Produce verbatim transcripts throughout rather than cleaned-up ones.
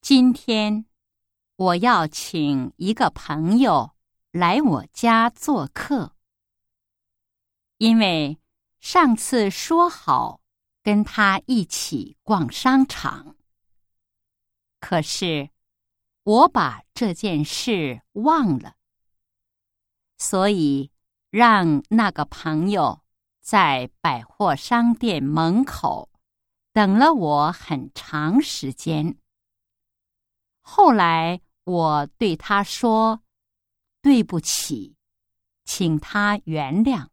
今天我要请一个朋友来我家做客，因为上次说好跟他一起逛商场，可是我把这件事忘了，所以让那个朋友在百货商店门口等了我很长时间。后来我对他说：“对不起，请他原谅。”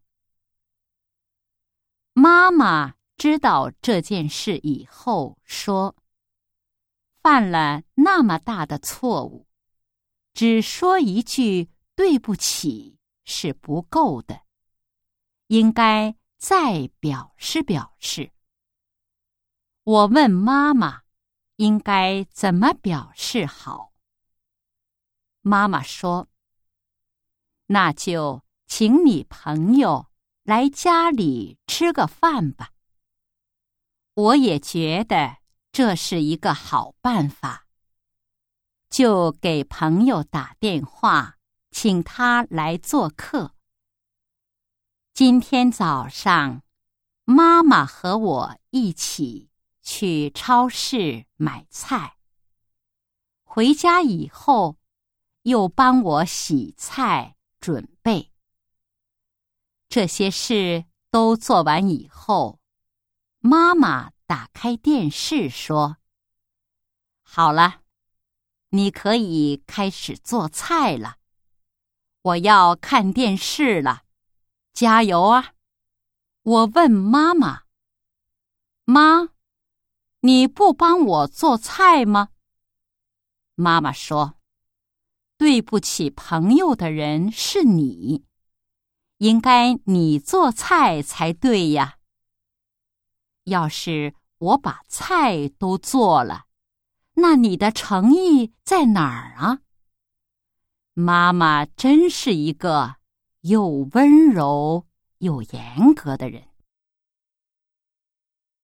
妈妈知道这件事以后说：“犯了那么大的错误，只说一句对不起是不够的，应该再表示表示。”我问妈妈应该怎么表示好。妈妈说：“那就请你朋友来家里吃个饭吧。”我也觉得这是一个好办法，就给朋友打电话，请他来做客。今天早上，妈妈和我一起去超市买菜，回家以后又帮我洗菜准备。这些事都做完以后，妈妈打开电视说：“好了，你可以开始做菜了，我要看电视了，加油啊！”我问妈妈：“妈，你不帮我做菜吗？”妈妈说：“对不起朋友的人是你，应该你做菜才对呀。要是我把菜都做了，那你的诚意在哪儿啊？”妈妈真是一个又温柔又严格的人。